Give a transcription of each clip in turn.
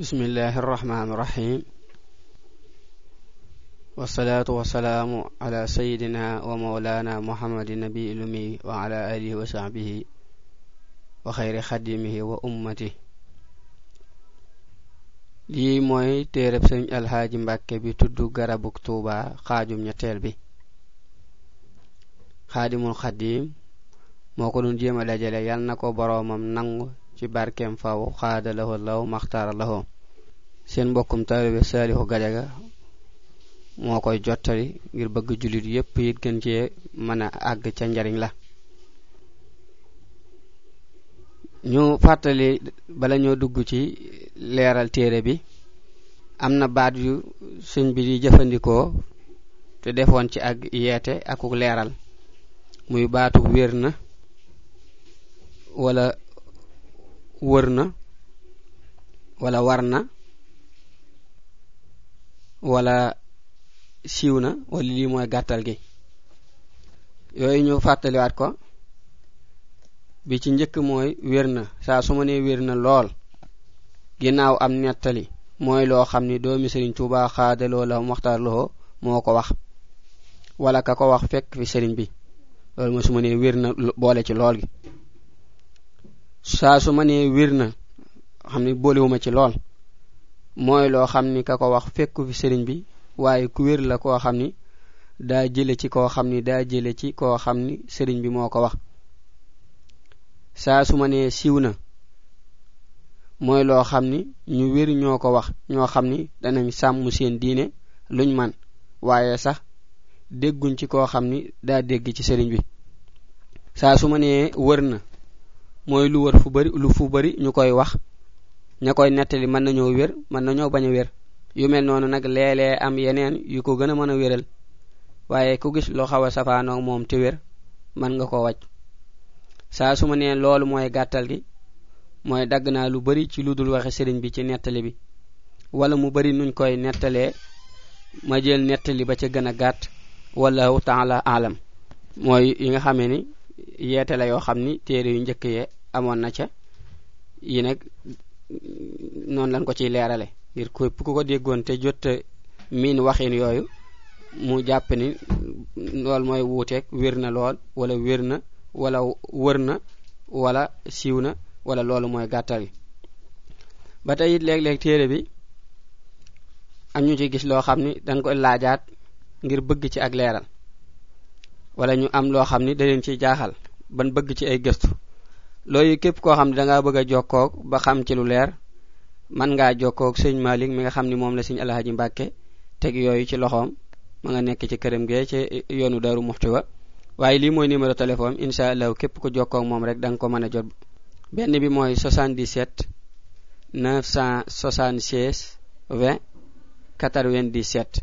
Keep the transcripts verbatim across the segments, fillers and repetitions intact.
بسم الله الرحمن الرحيم والصلاة والسلام على سيدنا ومولانا محمد النبي الأمي وعلى آله وصحبه وخير خدمه وأمته lii mooy téereb sëñ Alxaaji Mbàkke bi tudd Garabug Tuuba xaajum ñetteel bi Xaadimul Xaadim moo ko doon jéem a dajale yal na ko boroomam nangu ci barkeem faw xaada lahu law maxtaara lahu seen mbokkum taalibe Saalihu Gajaga moo koy jottali ngir bëgg jullit yépp it gën cee mën a àgg ca njariñ la ñu fàttali bala ñoo dugg ci leeral téere bi am na baat yu sëñ bi di jëfandikoo te defoon ci ak yeete akuk leeral muy baatu wér na wala wër na wala war na wala siiw na wala lii mooy gàttal gi yooyu ñu fàttaliwaat ko bi ci njëkk mooy wér na saa su ma nee wér na lool ginnaaw am nettali mooy loo xam ni doomi Sëriñ Tuubaa xaadaloo la Muxtaar Lo moo ko wax wala ka ko wax fekk fi sëriñ bi loolu mooy su ma nee wér na boole ci lool gi saa su ma nee wér na xam ni boolewuma ci lool mooy loo xam ni ka ko wax fekk fi sëriñ bi waaye ku wér la koo xam ni daa jële ci koo xam ni daa jële ci koo xam ni sëriñ bi moo ko wax saa su ma nee siiw na mooy loo xam ni ñu wér ñoo ko wax ñoo xam ni danañ sàmm seen diine luñ man waaye sax dégguñ ci koo xam ni daa dégg ci sëriñ bi saa su ma nee wër na mooy lu wër fu bari lu fu bari ñu koy wax ña koy nettali mën nañoo wér mën nañoo bañ a wér yu mel noonu nag léeg-léeg am yeneen yu ko gën a mën a wéral waaye ku gis loo xaw a safaanoo moom te wér mën nga ko wàcc saa su ma nee loolu mooy gàttal gi mooy dagg naa lu bari ci lu dul waxe sëriñ bi ci nettali bi wala mu bari nuñ koy nettalee ma jël nettali ba ca gën a gàtt wallahu taala alam mooy yi nga xamee ni yeete la yoo xam ni téere yu njëkk yee amoon na ca yi nag noonu lañ ko ciy leerale ngir ko ku ko déggoon te jot miin waxin yooyu mu jàpp ni lool mooy wuuteeg wér na lool wala wér na wala wër na wala siiw na wala loolu mooy gàttal gi ba tey it léeg-léeg téere bi am ñu ci gis loo xam ni dañ koy laajaat ngir bëgg ci ak leeral wala ñu am loo xam ni da leen ciy jaaxal ban bëgg ci ay gëstu loolu képp koo xam ne da ngaa bëgg a jokkoo ba xam ci lu leer man ngaa jokkoo ak sëñ Malik mi nga xam ni moom la sëñ Alxaaji Mbàkke teg yooyu ci loxoom ma nga nekk ci këram gee ci yoonu Daaru Muxti wa waaye lii mooy numéro téléphone insha Allah képp ko jokkoo ak moom rek da nga ko mën a jot benn bi mooy soixante-dix-sept neuf cent soixante-seize vingt quatre-vingt-dix-sept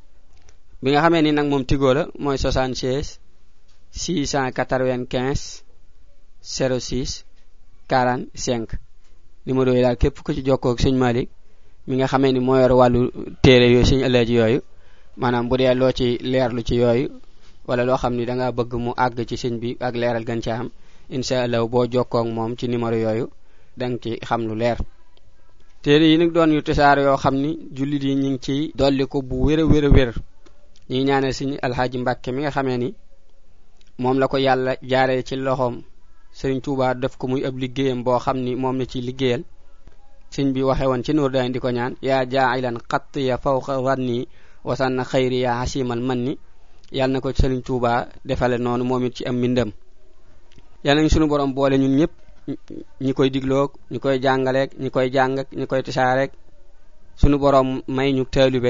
bi nga xamee ni nag moom Tigo la mooy soixante-seize six cent quatre-vingt-quinze zéro six quarante-cinq numéro yi daal képp ku ci jokkoo ak sëñ Malik mi nga xamee ni moo yor wàllu téere yooyu sëñ Alaaji yooyu maanaam bu dee loo ci leerlu ci yooyu wala loo xam ni da nga bëgg mu àgg ci sëñ bi ak leeral gën ci am insha Allah boo jokkoo ak moom ci numéro yooyu danga ci xam lu leer téere yi nag doon yu tasaar yoo xam ni jullit yi ñu ngi ci dolli ko bu wér a wér a wér ñi ñaanal sëñ Alxaaji Mbàkke mi nga xamee ni moom la ko yàlla jaaree ci loxoom Sëriñ Tuubaa def ko muy ab liggéeyam boo xam ni moom la ci liggéeyal sëñ bi waxe woon ci Nuur Daarayni di ko ñaan yaa jaa'ilan xatt ya fawqa wanni wasanna xayri ya hasimal manni yàlla na ko Sëriñ Tuubaa defale noonu moom it ci am mbindam yàlla nañ sunu borom boole ñun ñëpp ñi koy digloog ñi koy jàngaleeg ñi koy jàng ak ñi koy tisaareeg sunu borom may ñu taalibe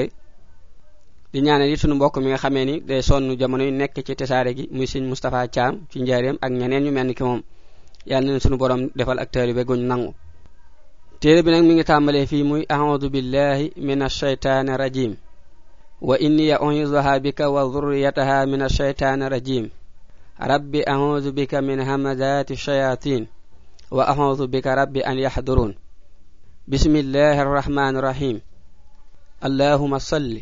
di ñaanal it sunu mbokk mi nga xamee ni day sonn jamono yu nekk ci tisaare gi muy sëñ Moustapha Thiam ci njaareem ak ñeneen ñu mel ni ki moom yàlla na sunu borom defal ak taalibe guñ nangu téere bi nag mi ngi tàmbalee fii muy a'udhu billahi minash shaytanir rajim wa inni u'izuha bika wa dhurriyyataha minash shaytanir rajim rabbi a'udhu bika min hamazati shayatin wa a'udhu bika rabbi an yahdurun bismillahir rahmanir rahim allahumma salli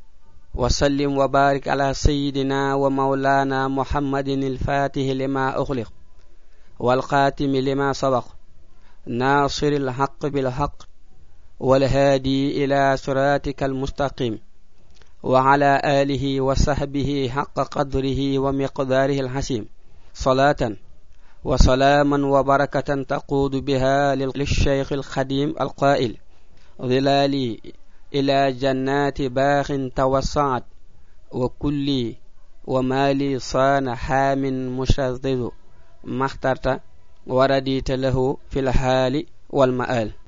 وسلم وبارك على سيدنا ومولانا محمد الفاتح لما أغلق والخاتم لما سبق ناصر الحق بالحق والهادي إلى صراطك المستقيم وعلى آله وصحبه حق قدره ومقداره الحسيم صلاة وسلاما وبركة تقود بها للشيخ الخديم القائل ظلالي إلى جنات باخ توسعت وكلي ومالي صان حام مشذذ ما اخترت ورديت له في الحال والمآل